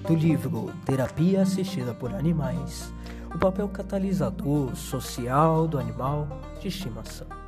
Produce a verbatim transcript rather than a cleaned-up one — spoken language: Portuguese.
do livro Terapia Assistida por Animais, o papel catalisador social do animal de estimação.